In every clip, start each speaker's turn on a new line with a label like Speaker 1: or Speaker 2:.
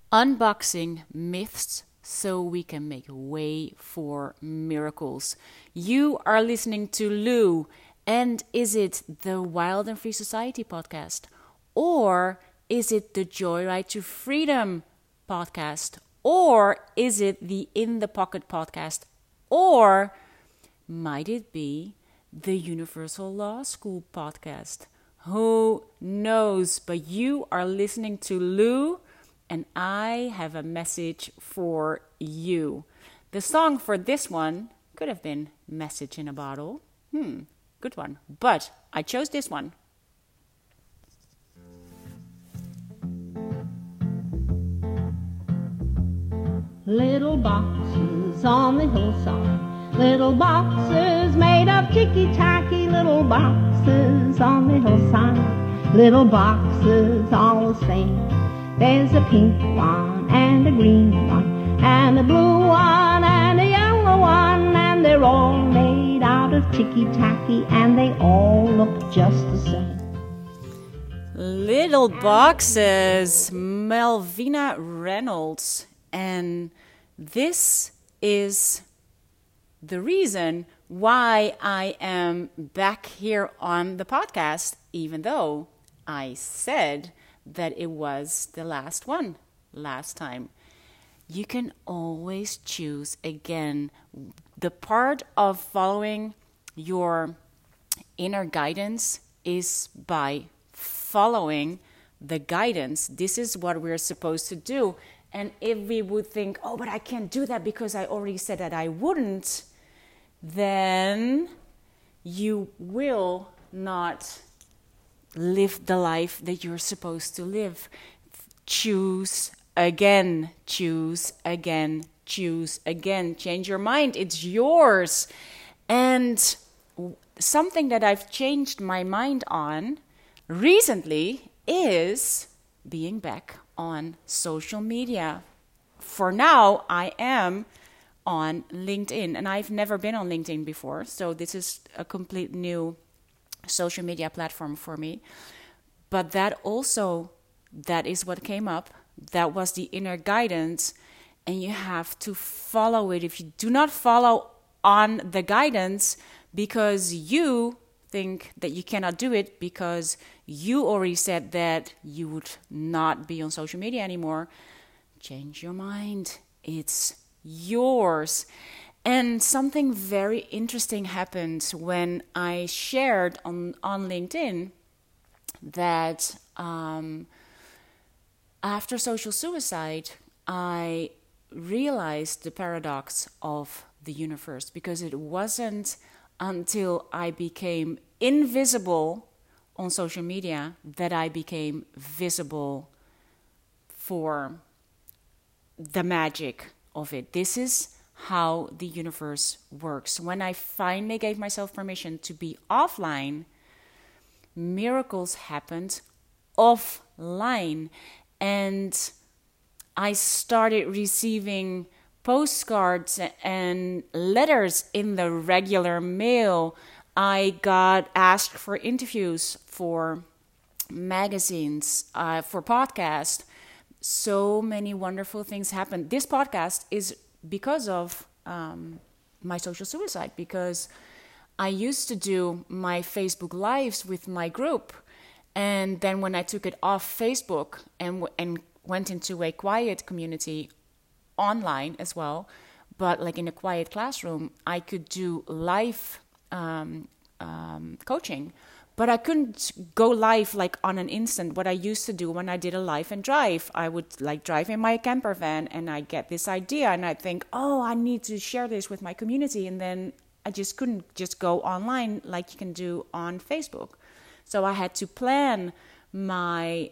Speaker 1: Unboxing myths so we can make way for miracles. You are listening to Lou, and is it the Wild and Free Society podcast? Or is it the Joyride to Freedom podcast? Or is it the In the Pocket podcast? Or might it be the Universal Law School podcast? Who knows? But you are listening to Lou, and I have a message for you. The song for this one could have been Message in a Bottle. Good one. But I chose this one.
Speaker 2: Little boxes on the hillside, little boxes made of ticky-tacky, little boxes on the hillside, little boxes all the same. There's a pink one and a green one and a blue one and a yellow one, and they're all made out of ticky-tacky and they all look just the same.
Speaker 1: Little Boxes, Melvina Reynolds. And this is the reason why I am back here on the podcast, even though I said that it was the last one last time. You can always choose again. The part of following your inner guidance is by following the guidance. This is what we're supposed to do. And if we would think, oh, but I can't do that because I already said that I wouldn't, then you will not live the life that you're supposed to live. Choose again, choose again, choose again. Change your mind. It's yours. And something that I've changed my mind on recently is being back on social media. For now, I am on LinkedIn, and I've never been on LinkedIn before, so this is a complete new social media platform for me. But that is what came up. That was the inner guidance, and you have to follow it. If you do not follow on the guidance because you think that you cannot do it because you already said that you would not be on social media anymore, change your mind. It's yours. And something very interesting happened when I shared on LinkedIn that after social suicide, I realized the paradox of the universe, because it wasn't until I became invisible on social media that I became visible for the magic of it. This is how the universe works. When I finally gave myself permission to be offline, miracles happened offline. And I started receiving postcards and letters in the regular mail. I got asked for interviews for magazines, for podcasts. So many wonderful things happened. This podcast is because of my social suicide, because I used to do my Facebook Lives with my group. And then when I took it off Facebook and went into a quiet community online as well, but like in a quiet classroom, I could do live coaching, but I couldn't go live like on an instant. What I used to do when I did a live and drive, I would like drive in my camper van and I get this idea and I think, oh, I need to share this with my community. And then I just couldn't just go online like you can do on Facebook. So I had to plan my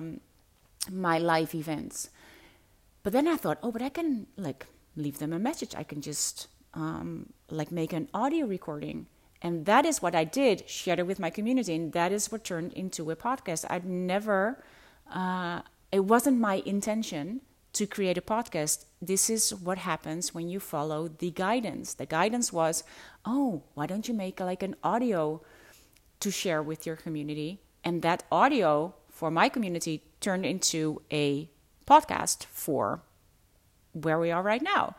Speaker 1: my live events. But then I thought, oh, but I can like leave them a message. I can just like make an audio recording. And that is what I did, shared it with my community. And that is what turned into a podcast. I'd never, it wasn't my intention to create a podcast. This is what happens when you follow the guidance. The guidance was, oh, why don't you make like an audio to share with your community? And that audio for my community turned into a podcast for where we are right now.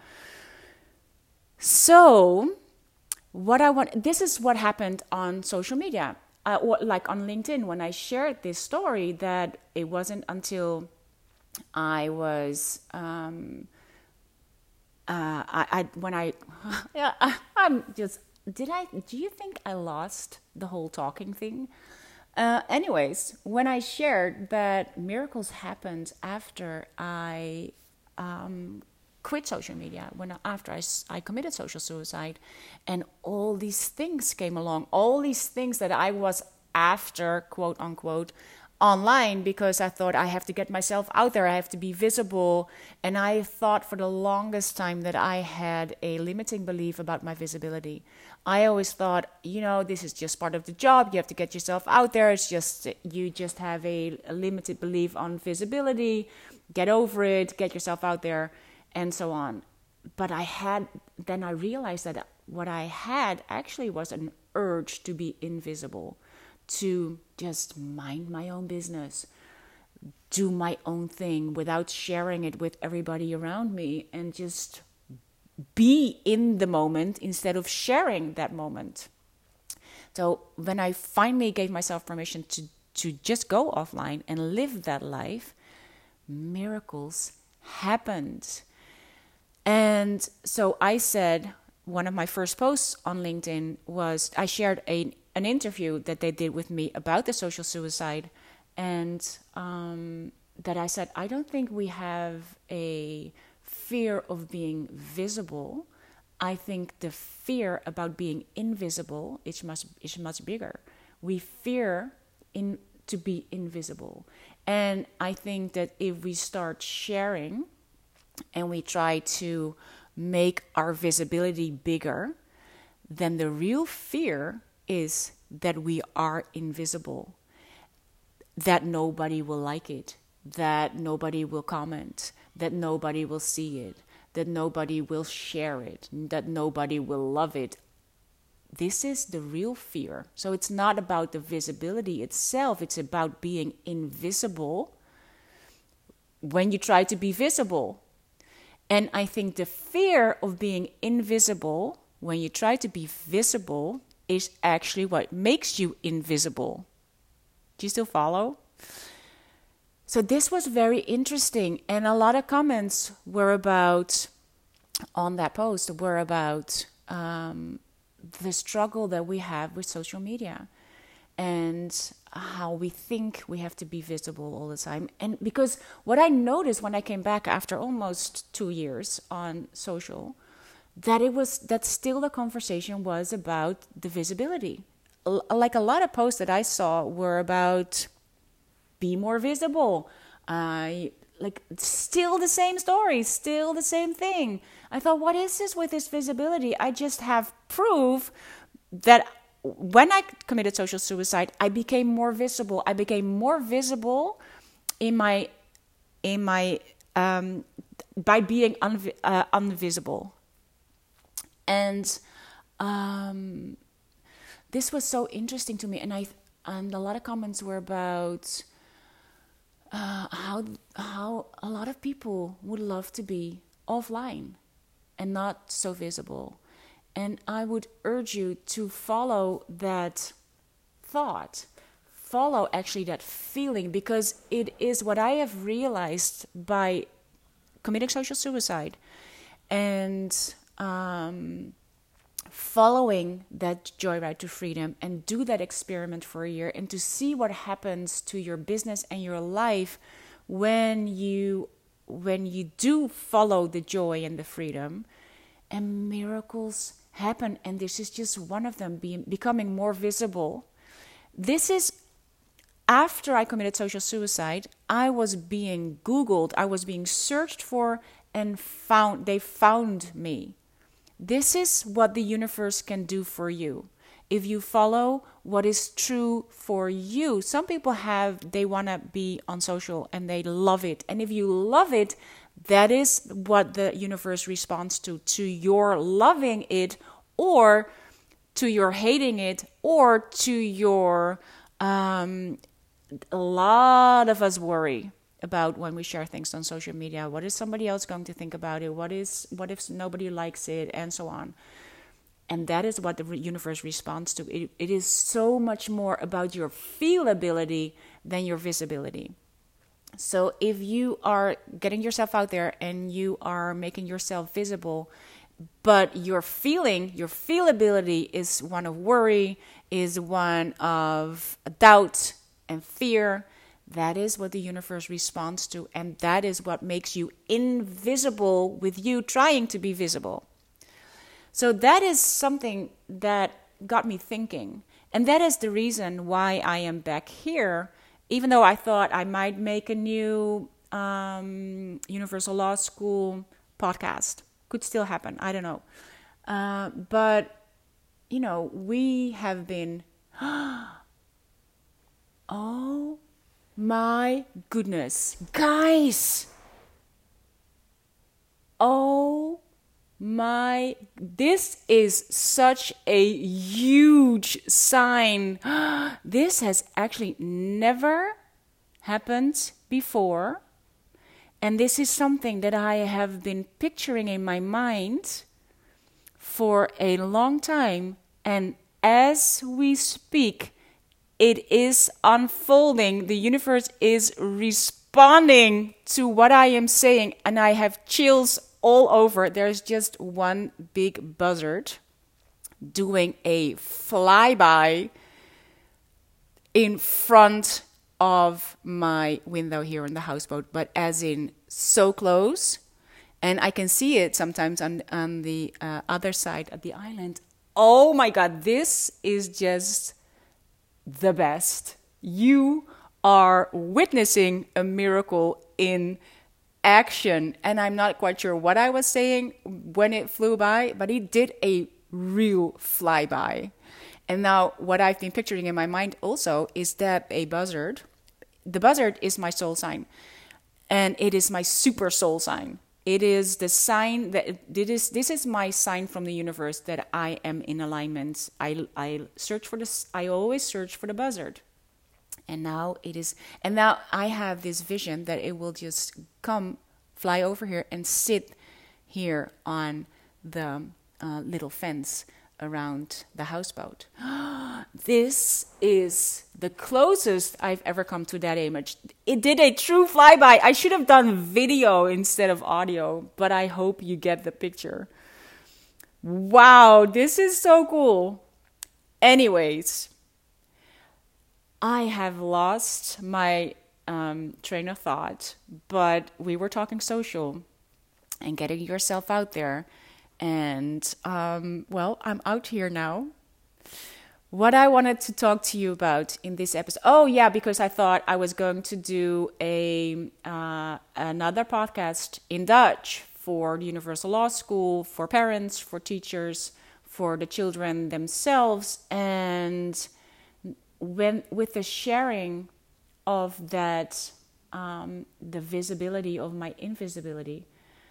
Speaker 1: So this is what happened on social media, or like on LinkedIn, when I shared this story, that it wasn't until I was, do you think I lost the whole talking thing? Anyways, when I shared that miracles happened after I quit social media, after I committed social suicide, and all these things came along, all these things that I was after, quote unquote, online, because I thought I have to get myself out there, I have to be visible. And I thought for the longest time that I had a limiting belief about my visibility. I always thought, this is just part of the job. You have to get yourself out there. You just have a limited belief on visibility. Get over it, get yourself out there, and so on. But then I realized that what I had actually was an urge to be invisible, to just mind my own business, do my own thing without sharing it with everybody around me, and just be in the moment instead of sharing that moment. So when I finally gave myself permission to just go offline and live that life, miracles happened. And so I said, one of my first posts on LinkedIn was, I shared an interview that they did with me about the social suicide, and that I said, I don't think we have a fear of being visible. I think the fear about being invisible is much bigger. We fear to be invisible. And I think that if we start sharing and we try to make our visibility bigger, then the real fear is that we are invisible, that nobody will like it, that nobody will comment, that nobody will see it, that nobody will share it, that nobody will love it. This is the real fear. So it's not about the visibility itself, it's about being invisible when you try to be visible. And I think the fear of being invisible when you try to be visible is actually what makes you invisible. Do you still follow? So this was very interesting, and a lot of comments on that post were about the struggle that we have with social media and how we think we have to be visible all the time. And because what I noticed when I came back after almost 2 years on social, that still the conversation was about the visibility. Like a lot of posts that I saw were about be more visible. Still the same story, still the same thing. I thought, what is this with this visibility? I just have proof that when I committed social suicide, I became more visible. I became more visible by being invisible. And this was so interesting to me. And a lot of comments were about how a lot of people would love to be offline and not so visible. And I would urge you to follow that thought, follow actually that feeling, because it is what I have realized by committing social suicide and following that joyride to freedom, and do that experiment for a year, and to see what happens to your business and your life when you do follow the joy and the freedom, and miracles happen. And this is just one of them, becoming more visible. This is after I committed social suicide. I was being Googled, I was being searched for, and they found me. This is what the universe can do for you if you follow what is true for you. Some people they want to be on social and they love it. And if you love it, that is what the universe responds to your loving it, or to your hating it, or to your, a lot of us worry about when we share things on social media. What is somebody else going to think about it? What if nobody likes it, and so on. And that is what the universe responds to. It is so much more about your feelability than your visibility. So if you are getting yourself out there and you are making yourself visible, but your feelability is one of worry, is one of doubt and fear, that is what the universe responds to. And that is what makes you invisible with you trying to be visible. So that is something that got me thinking. And that is the reason why I am back here, even though I thought I might make a new Universal Law School podcast. Could still happen. I don't know. But, we have been... Oh my goodness. Guys! This is such a huge sign. This has actually never happened before. And this is something that I have been picturing in my mind for a long time. And as we speak, it is unfolding. The universe is responding to what I am saying. And I have chills all over. There's just one big buzzard doing a flyby in front of my window here on the houseboat, but as in so close, and I can see it sometimes on the other side of the island. Oh my God, this is just the best. You are witnessing a miracle in action, and I'm not quite sure what I was saying when it flew by, but it did a real flyby. And now what I've been picturing in my mind also is that the buzzard is my soul sign, and it is my super soul sign. It is the sign that this is my sign from the universe that I am in alignment. I search for this. I always search for the buzzard. And now I have this vision that it will just fly over here and sit here on the little fence around the houseboat. This is the closest I've ever come to that image. It did a true flyby. I should have done video instead of audio, but I hope you get the picture. Wow, this is so cool. Anyways, I have lost my train of thought, but we were talking social and getting yourself out there. And, I'm out here now. What I wanted to talk to you about in this episode... Oh, yeah, because I thought I was going to do another podcast in Dutch for the Universal Law School, for parents, for teachers, for the children themselves. And with the sharing of that, the visibility of my invisibility...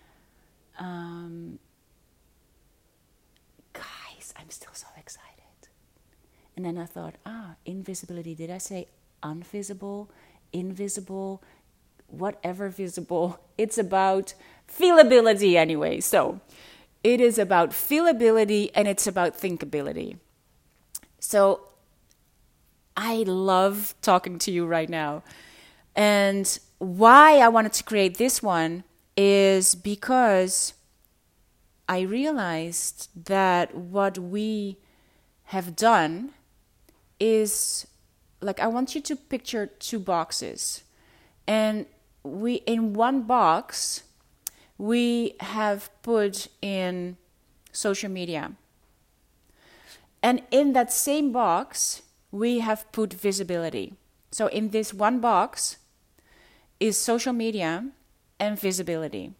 Speaker 1: Guys, I'm still so excited. And then I thought, invisibility. Did I say unvisible, invisible, whatever visible? It's about feelability anyway. So it is about feelability and it's about thinkability. So I love talking to you right now. And why I wanted to create this one is because I realized that what we have done is, like, I want you to picture two boxes. And in one box, we have put in social media. And in that same box, we have put visibility. So in this one box is social media and visibility.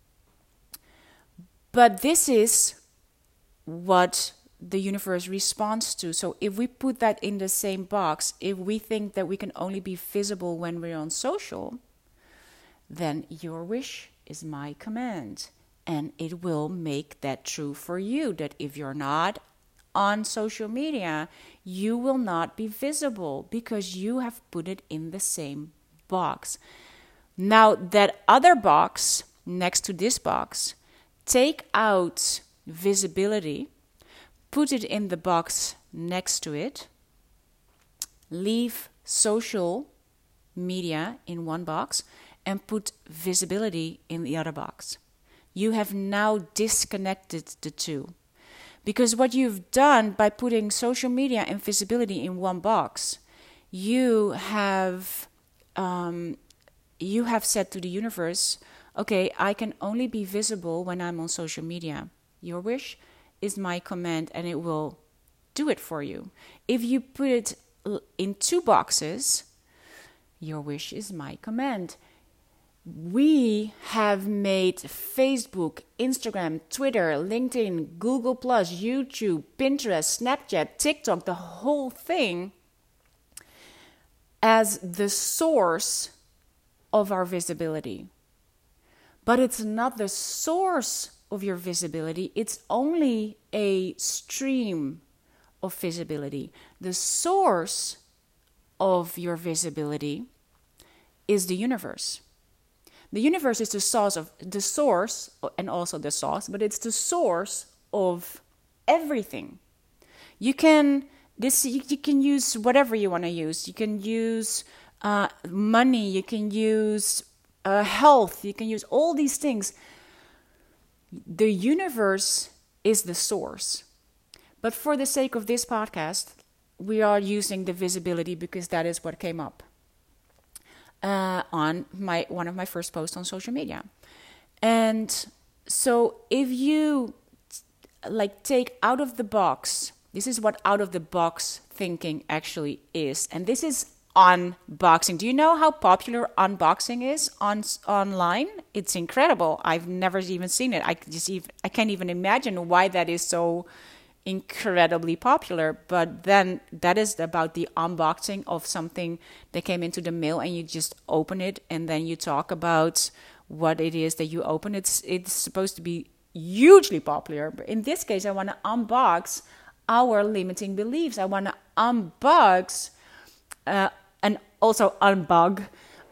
Speaker 1: But this is what the universe responds to. So if we put that in the same box, if we think that we can only be visible when we're on social, then your wish is my command. And it will make that true for you, that if you're not on social media, you will not be visible because you have put it in the same box. Now that other box next to this box, take out visibility, put it in the box next to it, leave social media in one box, and put visibility in the other box. You have now disconnected the two. Because what you've done by putting social media and visibility in one box, you have said to the universe, okay, I can only be visible when I'm on social media. Your wish is my command, and it will do it for you. If you put it in two boxes, your wish is my command. We have made Facebook, Instagram, Twitter, LinkedIn, Google+, YouTube, Pinterest, Snapchat, TikTok, the whole thing as the source of our visibility. But it's not the source of your visibility. It's only a stream of visibility. The source of your visibility is the universe. The universe is the source and also the sauce, but it's the source of everything. You can use whatever you want to use. You can use money. You can use health. You can use all these things. The universe is the source. But for the sake of this podcast, we are using the visibility because that is what came up on one of my first posts on social media. And so if you take out of the box, this is what out of the box thinking actually is. And this is unboxing. Do you know how popular unboxing is online? It's incredible. I've never even seen it. I can't even imagine why that is so incredibly popular. But then that is about the unboxing of something that came into the mail, and you just open it and then you talk about what it is that you open. It's supposed to be hugely popular. But in this case, I want to unbox our limiting beliefs. I want to unbox and also unbox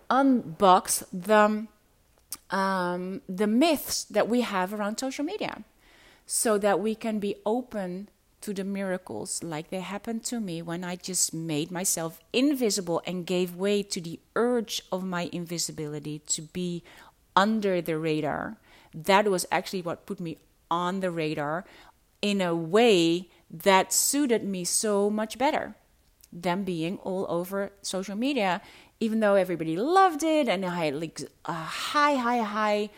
Speaker 1: the myths that we have around social media, so that we can be open to the miracles like they happened to me when I just made myself invisible and gave way to the urge of my invisibility to be under the radar. That was actually what put me on the radar in a way that suited me so much better than being all over social media, even though everybody loved it and I had a high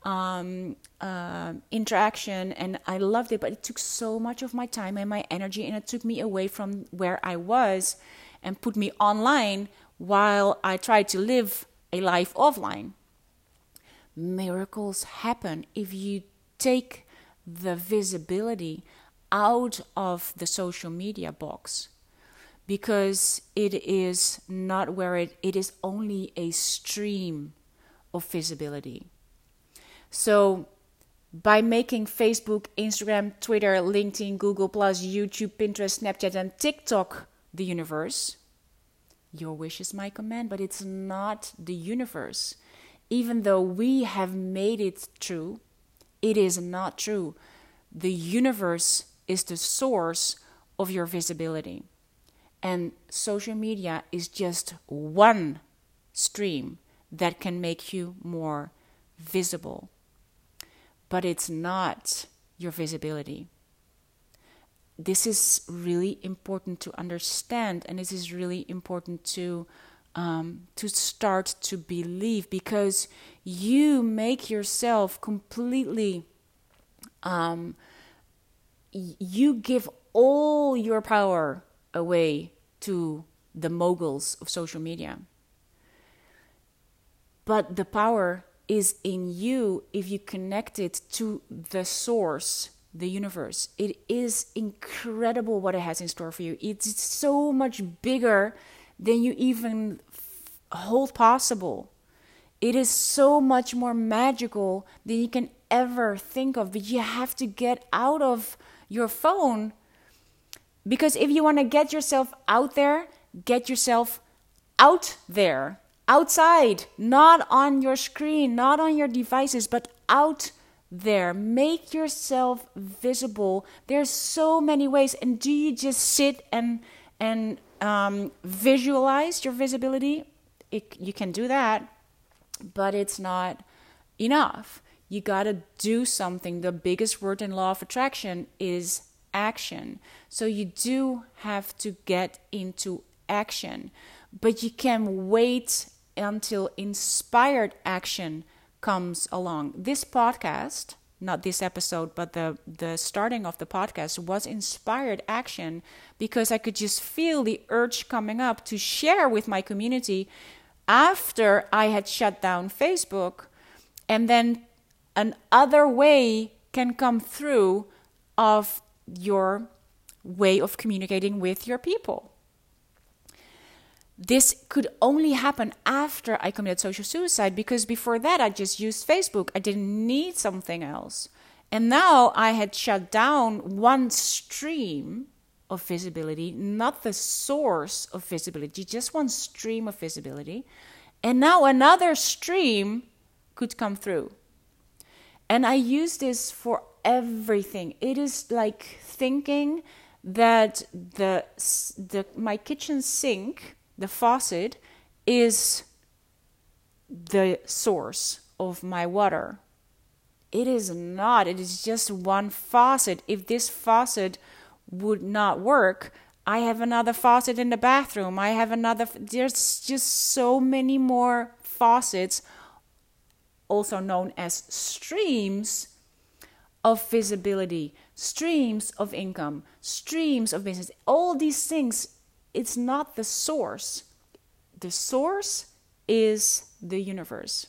Speaker 1: interaction, and I loved it, but it took so much of my time and my energy, and it took me away from where I was and put me online while I tried to live a life offline. Miracles happen if you take the visibility out of the social media box, because it is not where it is only a stream of visibility. So by making Facebook, Instagram, Twitter, LinkedIn, Google+, YouTube, Pinterest, Snapchat, and TikTok the universe, your wish is my command, but it's not the universe. Even though we have made it true, it is not true. The universe is the source of your visibility. And social media is just one stream that can make you more visible. But it's not your visibility. This is really important to understand, and this is really important to start to believe, because you make yourself completely, you give all your power away to the moguls of social media. But the power is in you if you connect it to the source, the universe. It is incredible what it has in store for you. It's so much bigger than you even hold possible. It is so much more magical than you can ever think of. But you have to get out of your phone, because if you want to get yourself out there, get yourself out there. outside, not on your screen, not on your devices, but out there. Make yourself visible. There's so many ways. And do you just sit and visualize your visibility? You can do that, but it's not enough. You got to do something. The biggest word in law of attraction is action. So you do have to get into action, but you can wait until inspired action comes along. This podcast, not this episode, but the starting of the podcast was inspired action because I could just feel the urge coming up to share with my community after I had shut down Facebook. And then another way can come through of your way of communicating with your people. This could only happen after I committed social suicide, because before that I just used Facebook. I didn't need something else. And now I had shut down one stream of visibility, not the source of visibility, just one stream of visibility. And now another stream could come through. And I use this for everything. It is like thinking that my kitchen sink, the faucet, is the source of my water. It is not. It is just one faucet. If this faucet would not work, I have another faucet in the bathroom. There's just so many more faucets, also known as streams of visibility, streams of income, streams of business. All these things, it's not the source. The source is the universe.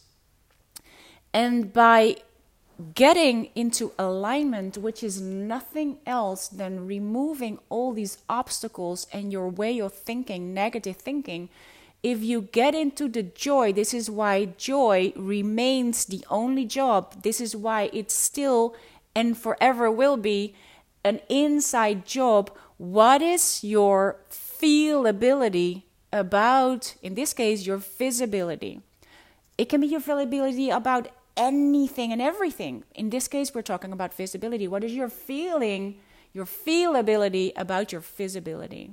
Speaker 1: And by getting into alignment, which is nothing else than removing all these obstacles and your way of thinking, negative thinking, if you get into the joy, this is why joy remains the only job. This is why it's still and forever will be an inside job. What is your feelability about, in this case, your visibility? It can be your feelability about anything and everything. In this case, we're talking about visibility. What is your feeling, your feelability about your visibility?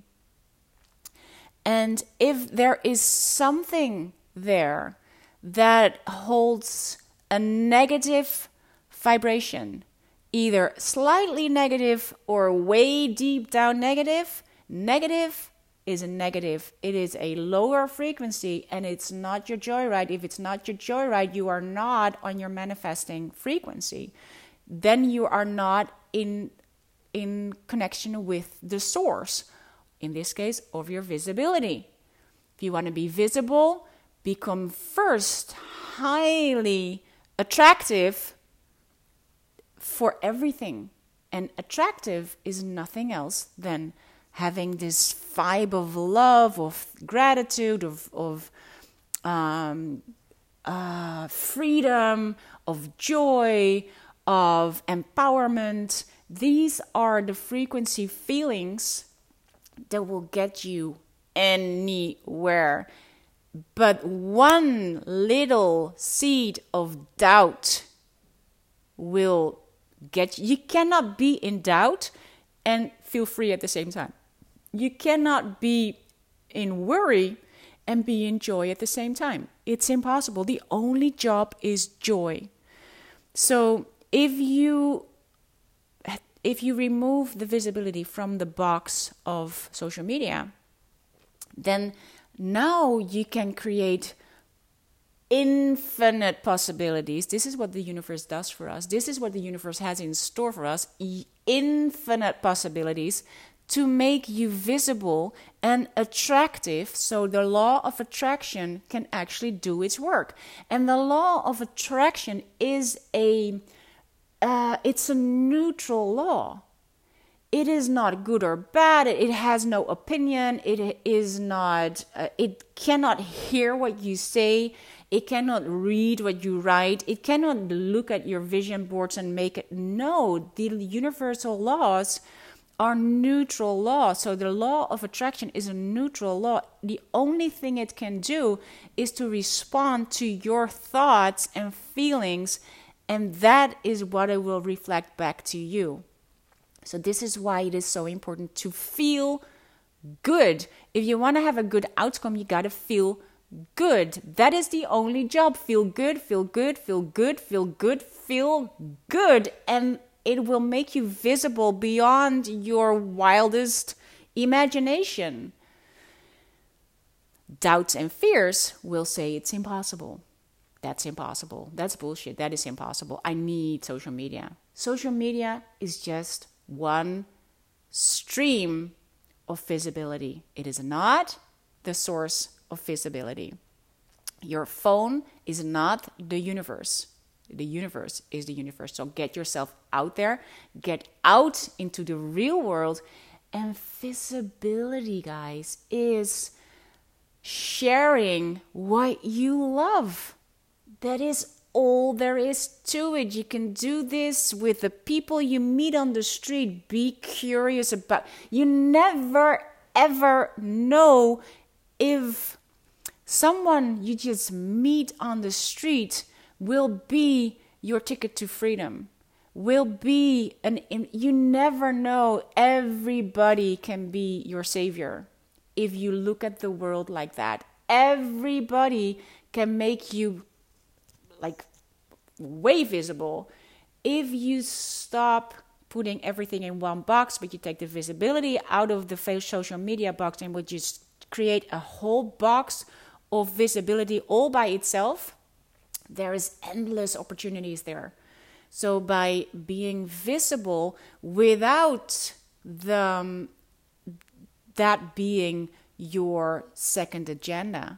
Speaker 1: And if there is something there that holds a negative vibration, either slightly negative or way deep down negative, negative is a negative. It is a lower frequency and it's not your joyride. If it's not your joyride, you are not on your manifesting frequency. Then you are not in connection with the source, in this case, of your visibility. If you want to be visible, become first highly attractive for everything. And attractive is nothing else than having this vibe of love, of gratitude, of freedom, of joy, of empowerment. These are the frequency feelings that will get you anywhere. But one little seed of doubt will get you. You cannot be in doubt and feel free at the same time. You cannot be in worry and be in joy at the same time. It's impossible. The only job is joy. So if you remove the visibility from the box of social media, then now you can create infinite possibilities. This is what the universe does for us. This is what the universe has in store for us. Infinite possibilities to make you visible and attractive, so the law of attraction can actually do its work. And the law of attraction is it's a neutral law. It is not good or bad. It has no opinion. It is not. It cannot hear what you say. It cannot read what you write. It cannot look at your vision boards and make it. No, the universal laws are neutral laws. So the law of attraction is a neutral law. The only thing it can do is to respond to your thoughts and feelings, and that is what it will reflect back to you. So this is why it is so important to feel good. If you want to have a good outcome, you got to feel good. That is the only job. Feel good, feel good, feel good, feel good, feel good. And it will make you visible beyond your wildest imagination. Doubts and fears will say it's impossible. That's impossible. That's bullshit. That is impossible. I need social media. Social media is just one stream of visibility. It is not the source of visibility. Your phone is not the universe. The universe is the universe. So get yourself out there, get out into the real world. And visibility, guys, is sharing what you love. That is all there is to it. You can do this with the people you meet on the street. Be curious about. You never ever know if someone you just meet on the street will be your ticket to freedom. Will be you never know. Everybody can be your savior if you look at the world like that. Everybody can make you like way visible if you stop putting everything in one box, but you take the visibility out of the social media box and would just create a whole box of visibility all by itself. There is endless opportunities there. So by being visible without that being your second agendas,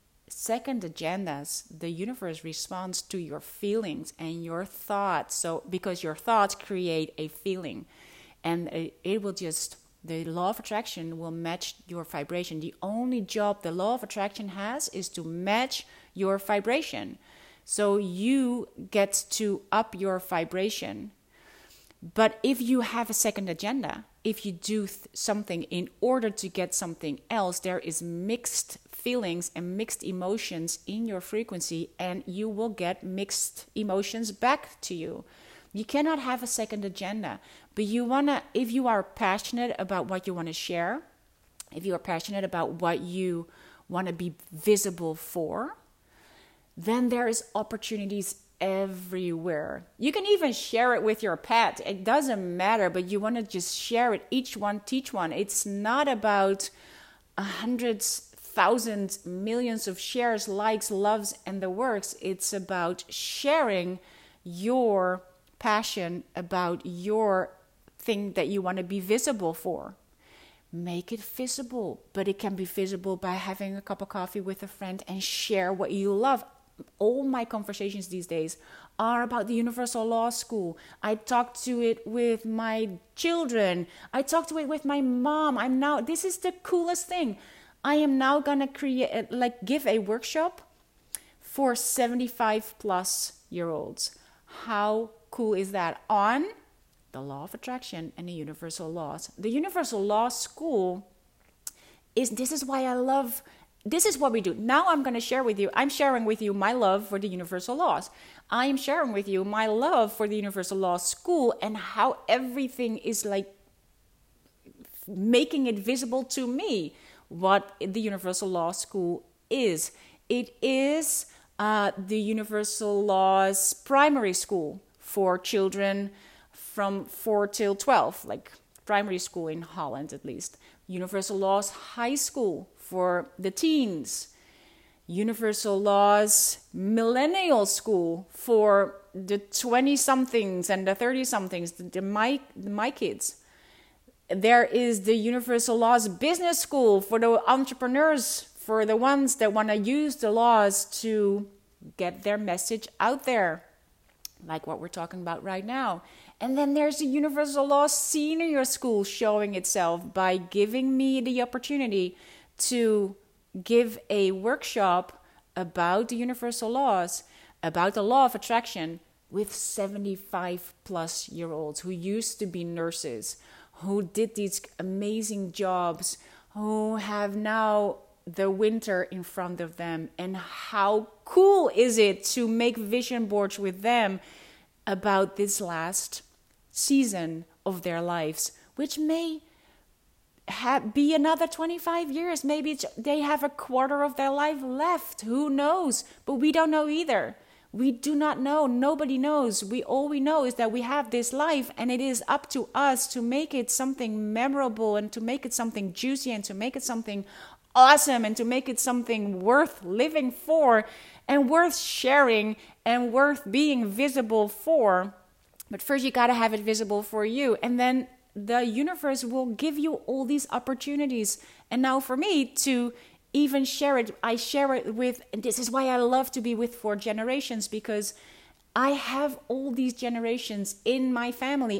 Speaker 1: the universe responds to your feelings and your thoughts. So because your thoughts create a feeling, and it will just, the law of attraction will match your vibration. The only job the law of attraction has is to match your vibration. So you get to up your vibration. But if you have a second agenda, if you do something in order to get something else, there is mixed feelings and mixed emotions in your frequency, and you will get mixed emotions back to you. You cannot have a second agenda, but if you are passionate about what you want to share, if you are passionate about what you want to be visible for, then there is opportunities everywhere. You can even share it with your pet. It doesn't matter, but you want to just share it. Each one, teach one. It's not about hundreds, thousands, millions of shares, likes, loves, and the works. It's about sharing your passion about your thing that you want to be visible for. Make it visible, but it can be visible by having a cup of coffee with a friend and share what you love. All my conversations these days are about the Universal Law School. I talk to it with my children. I talk to it with my mom. This is the coolest thing. I am now gonna give a workshop for 75 plus year olds. How cool is that? On the law of attraction and the universal laws. The Universal Law School this is what we do. Now I'm sharing with you my love for the universal laws. I am sharing with you my love for the Universal Law School and how everything is like making it visible to me what the Universal Law School is. It is the Universal Laws primary school for children from 4 till 12, like primary school in Holland at least. Universal Laws High School for the teens. Universal Laws Millennial School for the 20-somethings and the 30-somethings, my kids. There is the Universal Laws Business School for the entrepreneurs, for the ones that want to use the laws to get their message out there, like what we're talking about right now. And then there's the Universal Law Senior School showing itself by giving me the opportunity to give a workshop about the universal laws, about the law of attraction with 75 plus year olds who used to be nurses, who did these amazing jobs, who have now the winter in front of them. And how cool is it to make vision boards with them about this last season of their lives, which may be another 25 years. Maybe they have a quarter of their life left. Who knows? But we don't know either. We do not know. Nobody knows. All we know is that we have this life, and it is up to us to make it something memorable, and to make it something juicy, and to make it something awesome, and to make it something worth living for, and worth sharing, and worth being visible for. But first you got to have it visible for you, and then the universe will give you all these opportunities. And now for me to even share it, I share it with, and this is why I love to be with 4 generations, because I have all these generations in my family.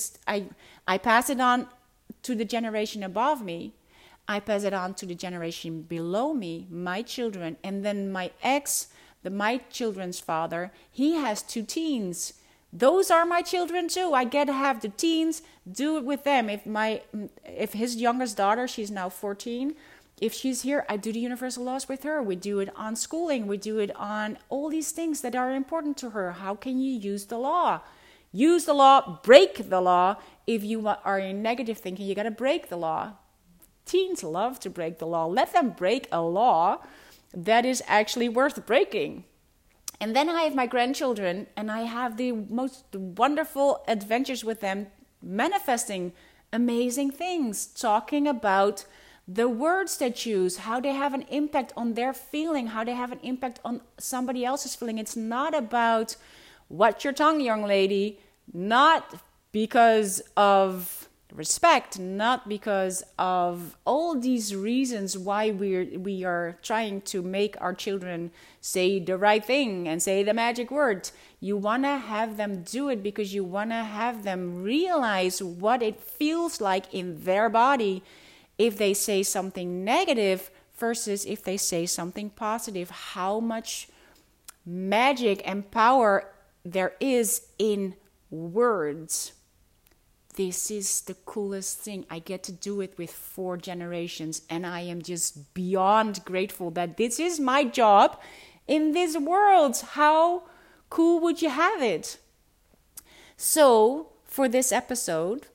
Speaker 1: I pass it on to the generation above me. I pass it on to the generation below me, my children, and then my my children's father, he has 2 teens. Those are my children too. I get to have the teens, do it with them. If his youngest daughter, she's now 14, if she's here, I do the universal laws with her. We do it on schooling. We do it on all these things that are important to her. How can you use the law? Use the law, break the law. If you are in negative thinking, you got to break the law. Teens love to break the law. Let them break a law that is actually worth breaking. And then I have my grandchildren, and I have the most wonderful adventures with them, manifesting amazing things, talking about the words they choose, how they have an impact on their feeling, how they have an impact on somebody else's feeling. It's not about watch your tongue, young lady, not because of respect, not because of all these reasons why we are trying to make our children say the right thing and say the magic word. You want to have them do it because you want to have them realize what it feels like in their body if they say something negative versus if they say something positive. How much magic and power there is in words. This is the coolest thing. I get to do it with 4 generations, and I am just beyond grateful that this is my job in this world. How cool would you have it? So, for this episode,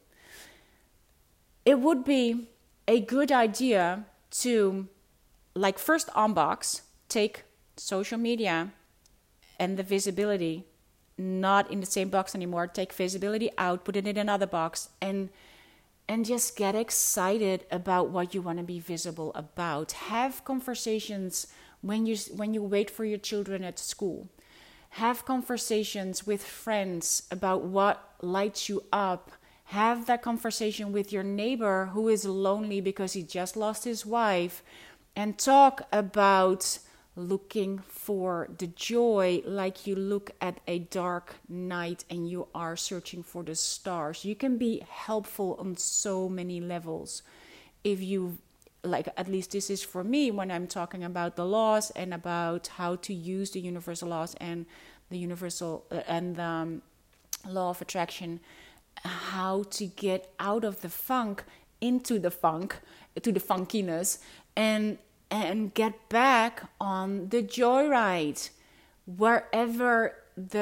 Speaker 1: it would be a good idea to, first unbox, take social media and the visibility not in the same box anymore. Take visibility out, put it in another box, and just get excited about what you want to be visible about. Have conversations when you wait for your children at school. Have conversations with friends about what lights you up. Have that conversation with your neighbor who is lonely because he just lost his wife, and talk about looking for the joy like you look at a dark night and you are searching for the stars. You can be helpful on so many levels. If you, at least this is for me when I'm talking about the laws and about how to use the universal laws and the universal and the law of attraction, how to get out of the funk into the funk, to the funkiness, and get back on the joyride, wherever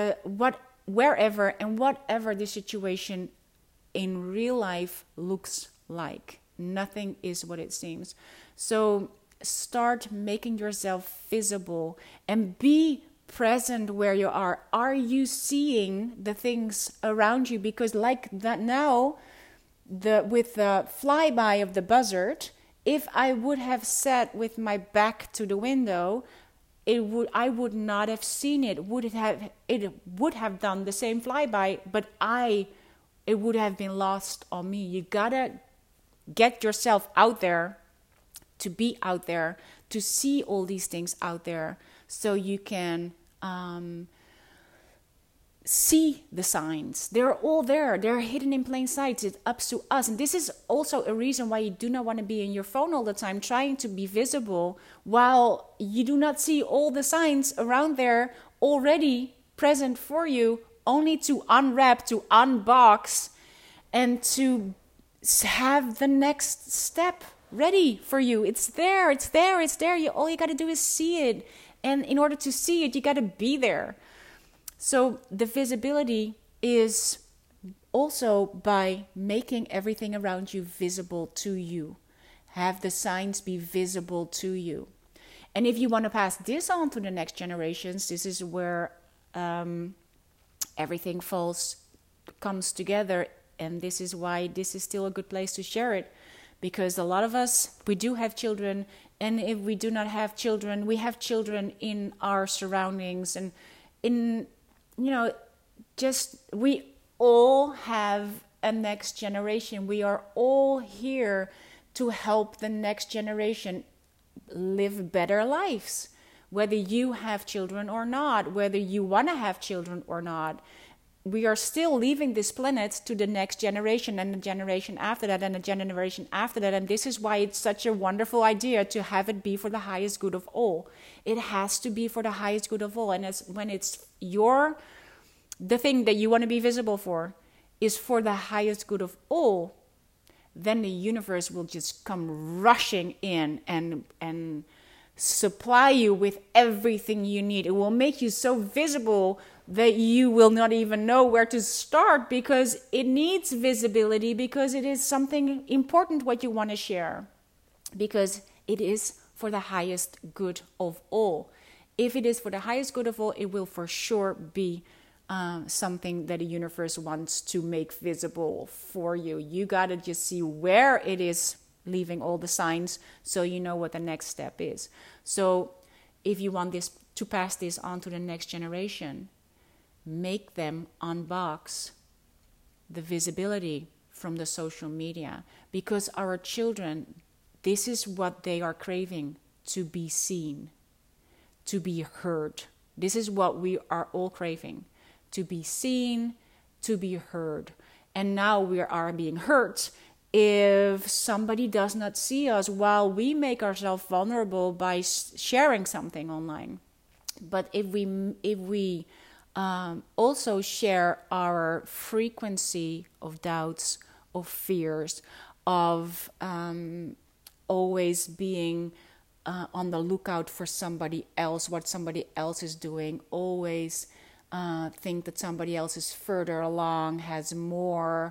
Speaker 1: and whatever the situation in real life looks like. Nothing is what it seems. So start making yourself visible and be present where you are. Are you seeing the things around you? Because like that now, with the flyby of the buzzard, if I would have sat with my back to the window, I would not have seen it. It would have done the same flyby, but it would have been lost on me. You gotta get yourself out there, to be out there, to see all these things out there, so you can see the signs. They're all there. They're hidden in plain sight. It's up to us. And this is also a reason why you do not want to be in your phone all the time trying to be visible while you do not see all the signs around there already present for you, only to unwrap, to unbox, and to have the next step ready for you. It's there, it's there, it's there. All you got to do is see it. And in order to see it, you got to be there. So the visibility is also by making everything around you visible to you. Have the signs be visible to you. And if you want to pass this on to the next generations, this is where everything comes together. And this is why this is still a good place to share it. Because a lot of us, we do have children. And if we do not have children, we have children in our surroundings. And we all have a next generation. We are all here to help the next generation live better lives. Whether you have children or not, whether you want to have children or not, we are still leaving this planet to the next generation and the generation after that and the generation after that. And this is why it's such a wonderful idea to have it be for the highest good of all. It has to be for the highest good of all. And when it's the thing that you want to be visible for is for the highest good of all, then the universe will just come rushing in and supply you with everything you need. It will make you so visible that you will not even know where to start, because it needs visibility, because it is something important what you want to share, because it is for the highest good of all. If it is for the highest good of all, it will for sure be something that the universe wants to make visible for you. You got to just see where it is leaving all the signs so you know what the next step is. So if you want this to pass this on to the next generation, make them unbox the visibility from the social media, because our children, this is what they are craving, to be seen, to be heard. This is what we are all craving, to be seen, to be heard. And now we are being hurt if somebody does not see us while we make ourselves vulnerable by sharing something online. But if we also share our frequency of doubts, of fears, of always being on the lookout for somebody else, what somebody else is doing, always think that somebody else is further along, has more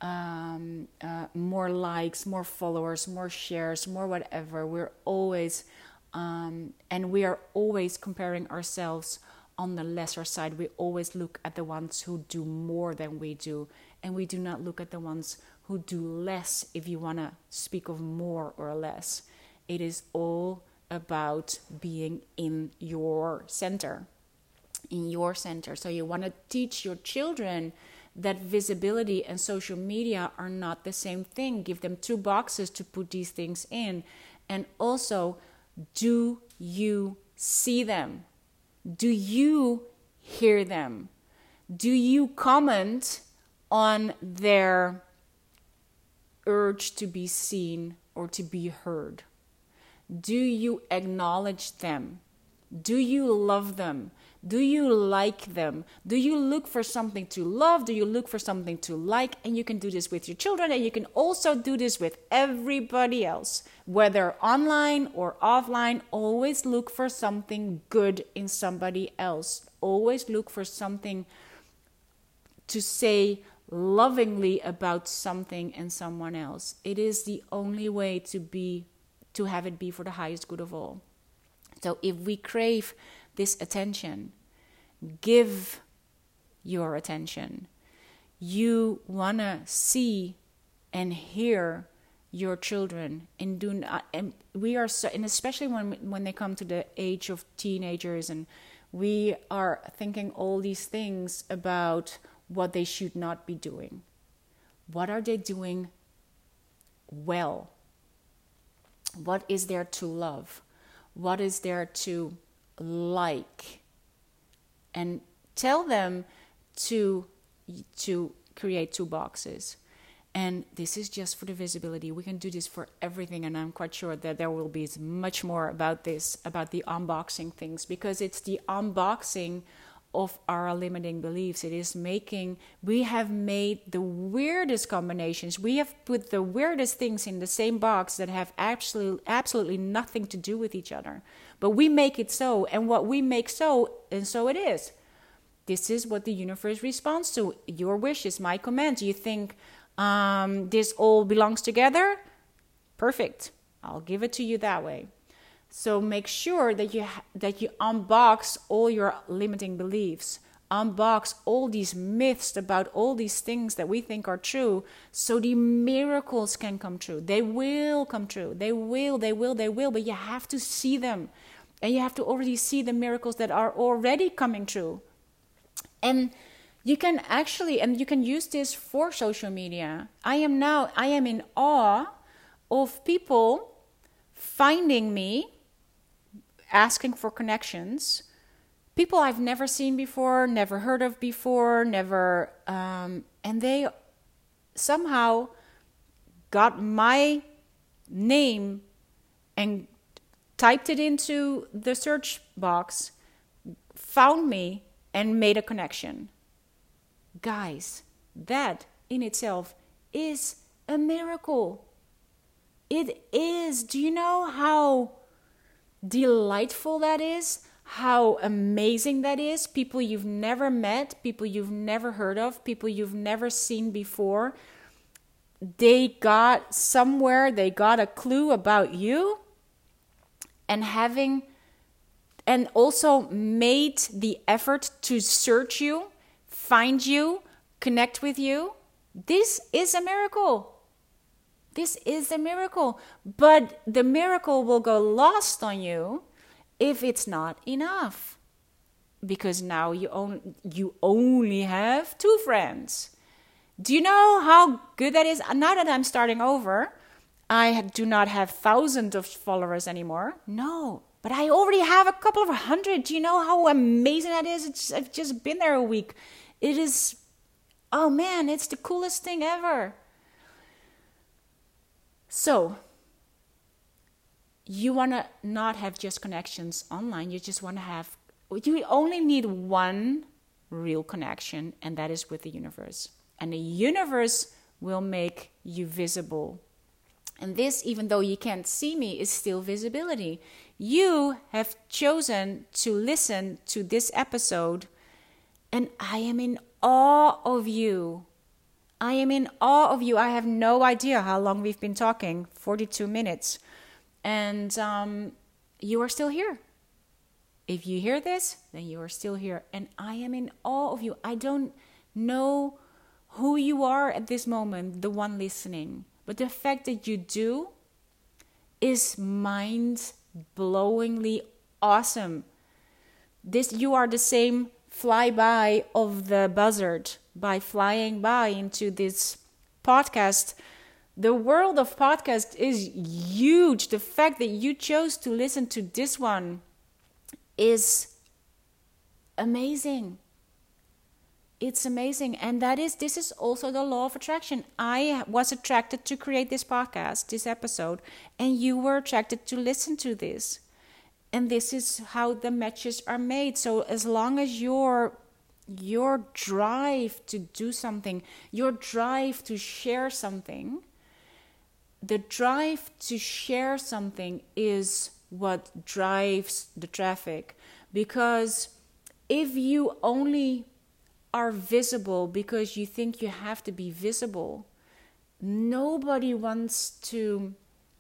Speaker 1: likes, more followers, more shares, more whatever. We're always, and we are always comparing ourselves on the lesser side. We always look at the ones who do more than we do, and we do not look at the ones who do less, if you want to speak of more or less. It is all about being in your center. So you want to teach your children that visibility and social media are not the same thing. Give them 2 boxes to put these things in. And also, do you see them? Do you hear them? Do you comment on their urge to be seen or to be heard? Do you acknowledge them? Do you love them? Do you like them? Do you look for something to love? Do you look for something to like? And you can do this with your children, and you can also do this with everybody else. Whether online or offline, always look for something good in somebody else. Always look for something to say lovingly about something and someone else. It is the only way to have it be for the highest good of all. So if we crave this attention, give your attention. You want to see and hear your children, and do not, and we are so, and especially when they come to the age of teenagers, and we are thinking all these things about what they should not be doing. What are they doing well? What is there to love? What is there to like? And tell them to create 2 boxes. And this is just for the visibility. We can do this for everything, and I'm quite sure that there will be much more about this, about the unboxing things, because it's the unboxing of our limiting beliefs. We have made the weirdest combinations. We have put the weirdest things in the same box that have absolutely nothing to do with each other. But we make it so, and what we make so, and so it is. This is what the universe responds to. Your wishes, my commands. You think this all belongs together? Perfect. I'll give it to you that way. So make sure that you unbox all your limiting beliefs, unbox all these myths about all these things that we think are true, so the miracles can come true. They will come true. They will, but you have to see them. And you have to already see the miracles that are already coming true. And you can use this for social media. I am in awe of people finding me, asking for connections, people I've never seen before, never heard of before, and they somehow got my name and typed it into the search box, found me, and made a connection. Guys, that in itself is a miracle. It is. Do you know how delightful that is? How amazing that is? People you've never met, people you've never heard of, people you've never seen before. They got a clue about you, and also made the effort to search you, find you, connect with you. This is a miracle. This is a miracle. But the miracle will go lost on you if it's not enough. Because now you only have 2 friends. Do you know how good that is? Now that I'm starting over, I do not have thousands of followers anymore. No, but I already have a couple of hundred. Do you know how amazing that is? I've just been there a week. It is, oh man, it's the coolest thing ever. So, you want to not have just connections online. You only need one real connection, and that is with the universe. And the universe will make you visible. And this, even though you can't see me, is still visibility. You have chosen to listen to this episode, and I am in awe of you. I am in awe of you. I have no idea how long we've been talking, 42 minutes. And you are still here. If you hear this, then you are still here. And I am in awe of you. I don't know who you are at this moment, the one listening. But the fact that you do is mind-blowingly awesome. You are the same flyby of the buzzard by flying by into this podcast. The world of podcast is huge. The fact that you chose to listen to this one is amazing. It's amazing. And this is also the law of attraction. I was attracted to create this podcast, this episode, and you were attracted to listen to this. And this is how the matches are made. So as long as your drive to do something, your drive to share something, the drive to share something is what drives the traffic. Because if you only are visible because you think you have to be visible, nobody wants to,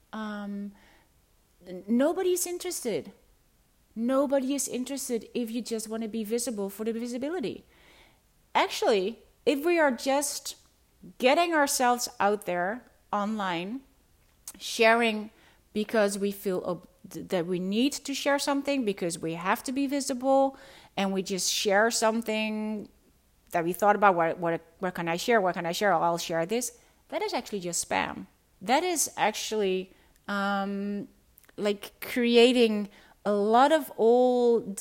Speaker 1: nobody's interested. Nobody is interested if you just want to be visible for the visibility. Actually, if we are just getting ourselves out there online, sharing because we feel that we need to share something, because we have to be visible, and we just share something that we thought about, what can I share? What can I share? I'll share this. That is actually just spam. That is actually like creating a lot of old,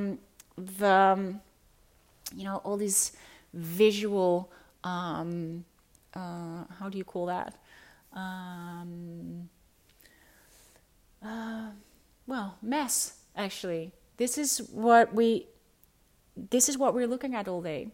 Speaker 1: all these visual, how do you call that? Mess, actually. This is what we this is what we're looking at all day.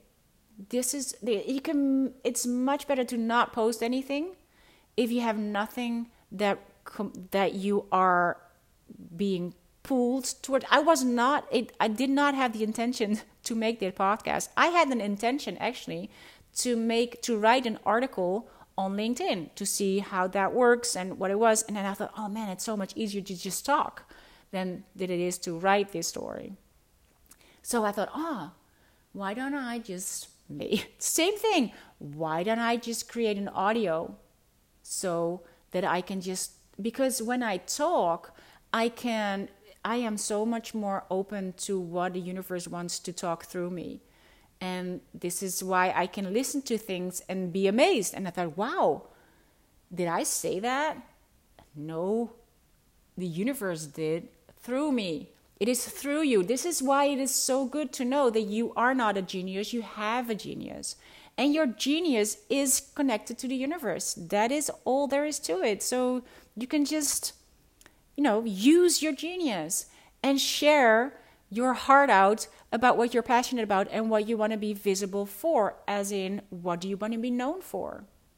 Speaker 1: It's much better to not post anything if you have nothing that you are being pulled toward. I did not have the intention to make that podcast. I had an intention actually to write an article on LinkedIn to see how that works and what it was. And then I thought, oh man, it's so much easier to just talk than it is to write this story. So I thought, why don't I just same thing. Why don't I just create an audio so that I can because when I talk, I am so much more open to what the universe wants to talk through me. And this is why I can listen to things and be amazed. And I thought, wow, did I say that? No, the universe did through me. It is through you. This is why it is so good to know that you are not a genius. You have a genius. And your genius is connected to the universe. That is all there is to it. So you can just, use your genius and share your heart out about what you're passionate about and what you want to be visible for, as in, what do you want to be known for?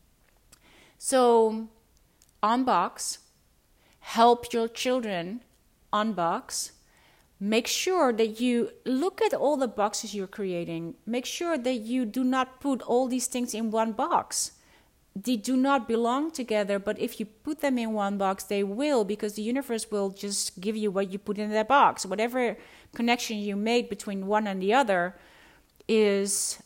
Speaker 1: So, unbox, help your children unbox. Make sure that you look at all the boxes you're creating. Make sure that you do not put all these things in one box. They do not belong together, but if you put them in one box, they will, because the universe will just give you what you put in that box. Whatever connection you make between one and the other is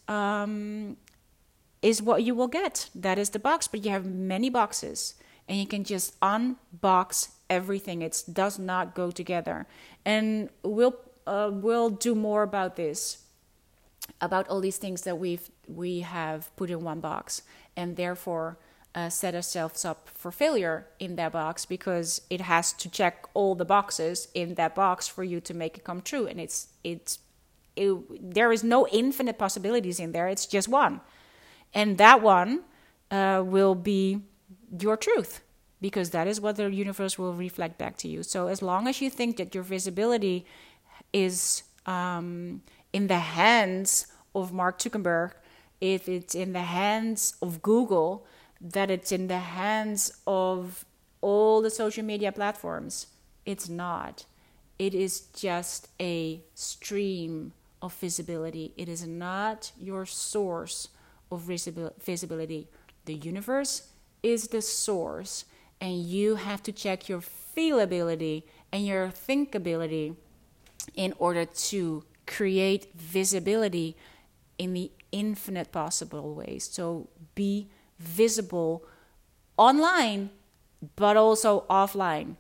Speaker 1: what you will get. That is the box, but you have many boxes, and you can just unbox everything. It does not go together. And we'll do more about this, about all these things that we have put in one box, and therefore set ourselves up for failure in that box, because it has to check all the boxes in that box for you to make it come true. And there is no infinite possibilities in there. It's just one, and that one will be your truth, because that is what the universe will reflect back to you. So as long as you think that your visibility is in the hands of Mark Zuckerberg, if it's in the hands of Google, that it's in the hands of all the social media platforms, it's not. It is just a stream of visibility. It is not your source of visibility. The universe is the source, and you have to check your feelability and your thinkability in order to create visibility in the infinite possible ways. So be visible online, but also offline.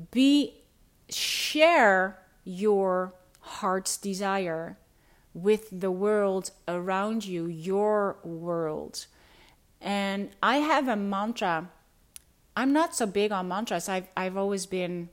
Speaker 1: Share your heart's desire with the world around you, your world. And I have a mantra. I'm not so big on mantras. I've always been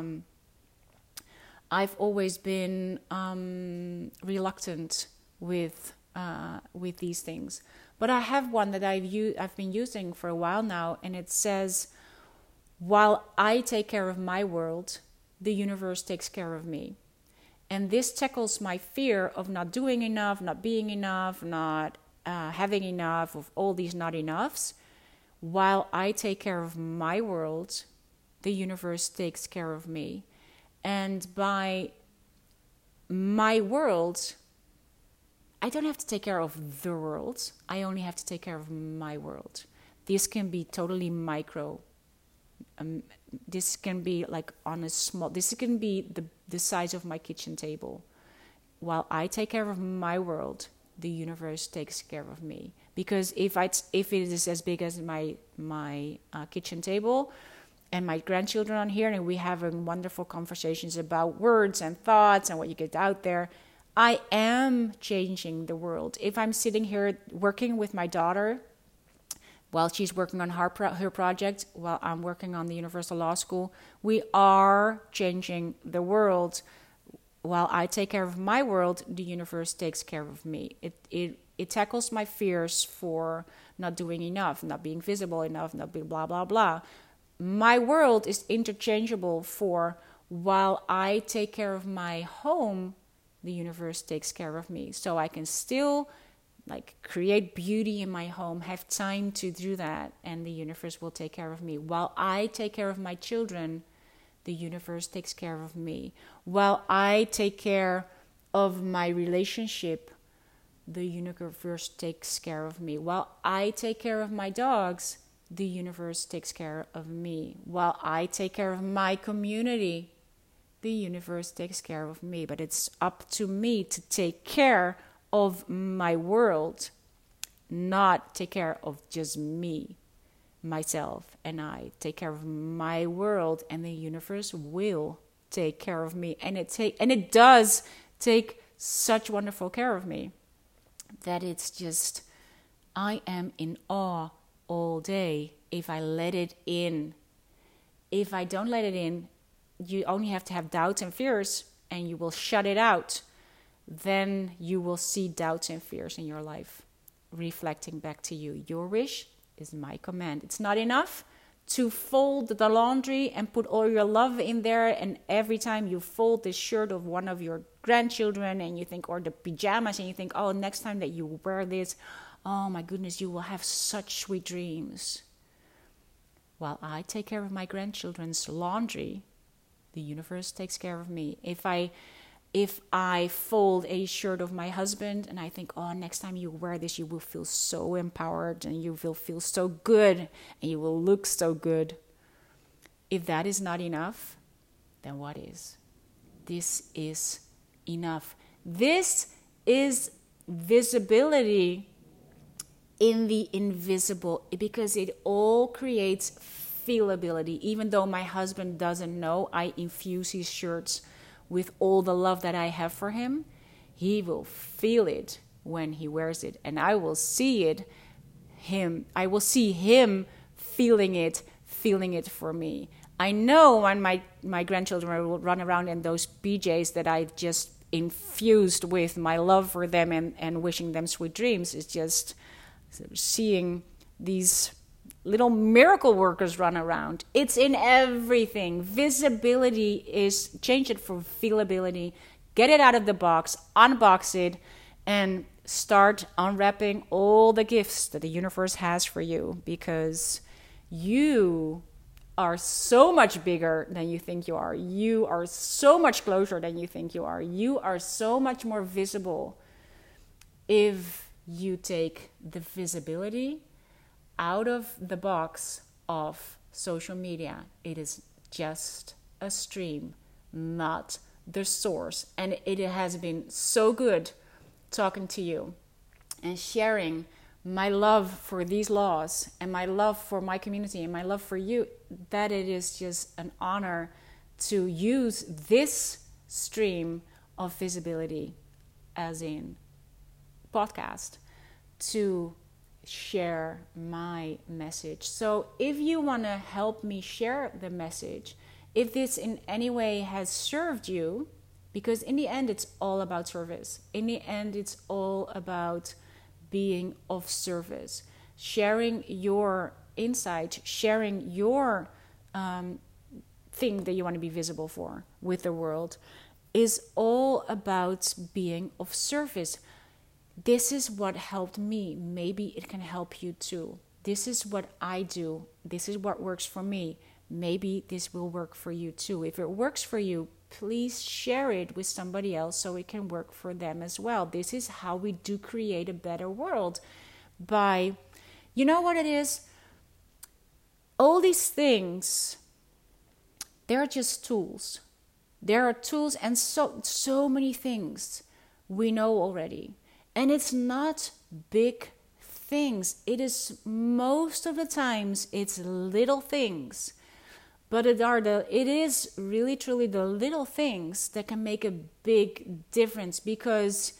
Speaker 1: reluctant with these things. But I have one that I've been using for a while now, and it says, while I take care of my world, the universe takes care of me. And this tackles my fear of not doing enough, not being enough, not having enough, of all these not enoughs. While I take care of my world, the universe takes care of me. And by my world, I don't have to take care of the world. I only have to take care of my world. This can be totally micro. This can be like on a small, this can be the size of my kitchen table. While I take care of my world, the universe takes care of me. Because if it is as big as my kitchen table, and my grandchildren are here, and we having wonderful conversations about words and thoughts and what you get out there, I am changing the world. If I'm sitting here working with my daughter while she's working on her project, while I'm working on the Universal Law School, we are changing the world. While I take care of my world, the universe takes care of me. It tackles my fears for not doing enough, not being visible enough, not being blah, blah, blah. My world is interchangeable for, while I take care of my home, the universe takes care of me. So I can still like create beauty in my home, have time to do that, and the universe will take care of me. While I take care of my children, the universe takes care of me. While I take care of my relationship, the universe takes care of me. While I take care of my dogs, the universe takes care of me. While I take care of my community, the universe takes care of me. But it's up to me to take care of my world, not take care of just me, myself, and I. Take care of my world, and the universe will take care of me. And it does take such wonderful care of me that it's just, I am in awe all day if I let it in. If I don't let it in, you only have to have doubts and fears, and you will shut it out. Then you will see doubts and fears in your life reflecting back to you. Your wish is my command. It's not enough to fold the laundry and put all your love in there, and every time you fold the shirt of one of your grandchildren and you think, or the pajamas, and you think, oh, next time that you wear this, oh my goodness, you will have such sweet dreams. While I take care of my grandchildren's laundry, the universe takes care of me. If I fold a shirt of my husband and I think, oh, next time you wear this, you will feel so empowered and you will feel so good and you will look so good. If that is not enough, then what is? This is enough. This is visibility in the invisible, because it all creates feelability. Even though my husband doesn't know, I infuse his shirts with all the love that I have for him. He will feel it when he wears it, and I will see I will see him feeling it for me. I know when my grandchildren will run around in those PJs that I've just infused with my love for them and wishing them sweet dreams, is just seeing these little miracle workers run around. It's in everything. Visibility is, change it for feelability. Get it out of the box, unbox it, and start unwrapping all the gifts that the universe has for you, because you are so much bigger than you think you are. You are so much closer than you think you are. You are so much more visible if you take the visibility out of the box of social media. It is just a stream, not the source. And it has been so good talking to you and sharing my love for these laws and my love for my community and my love for you, that it is just an honor to use this stream of visibility, as in podcast, to share my message. So if you want to help me share the message, if this in any way has served you, because in the end it's all about service. In the end it's all about being of service, sharing your insight, sharing your thing that you want to be visible for with the world, is all about being of service. This is what helped me. Maybe it can help you too. This is what I do. This is what works for me. Maybe this will work for you too. If it works for you, please share it with somebody else so it can work for them as well. This is how we do create a better world. By, you know what it is? All these things, they're just tools. There are tools, and so many things we know already. And it's not big things. It is, most of the times, it's little things. But it is really truly the little things that can make a big difference. Because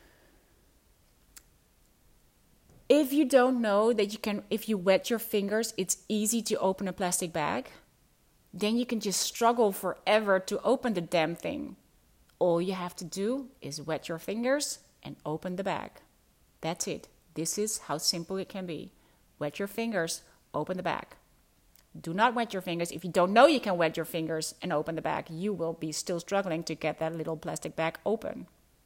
Speaker 1: if you don't know that you can, if you wet your fingers, it's easy to open a plastic bag, then you can just struggle forever to open the damn thing. All you have to do is wet your fingers and open the bag. That's it. This is how simple it can be. Wet your fingers, open the bag. Do not wet your fingers. If you don't know you can wet your fingers and open the bag, you will be still struggling to get that little plastic bag open.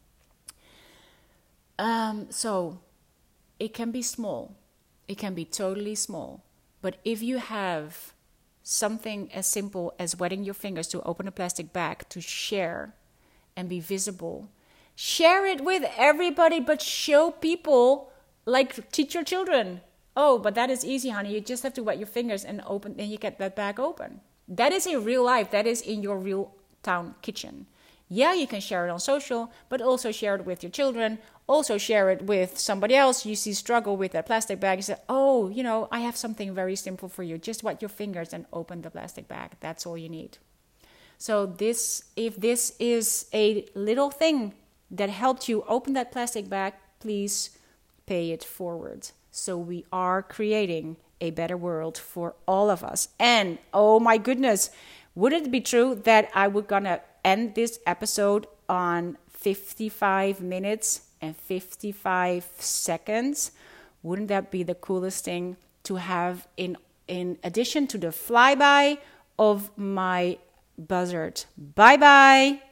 Speaker 1: So it can be small. It can be totally small. But if you have something as simple as wetting your fingers to open a plastic bag to share and be visible, share it with everybody, but show people, like teach your children. Oh, but that is easy, honey. You just have to wet your fingers and open, and you get that bag open. That is in real life. That is in your real town kitchen. Yeah, you can share it on social, but also share it with your children. Also share it with somebody else you see struggle with that plastic bag. You say, oh, I have something very simple for you. Just wet your fingers and open the plastic bag. That's all you need. So if this is a little thing that helped you open that plastic bag, please pay it forward. So we are creating a better world for all of us. And oh my goodness, would it be true that I would gonna end this episode on 55 minutes and 55 seconds? Wouldn't that be the coolest thing to have in addition to the flyby of my buzzard? Bye bye.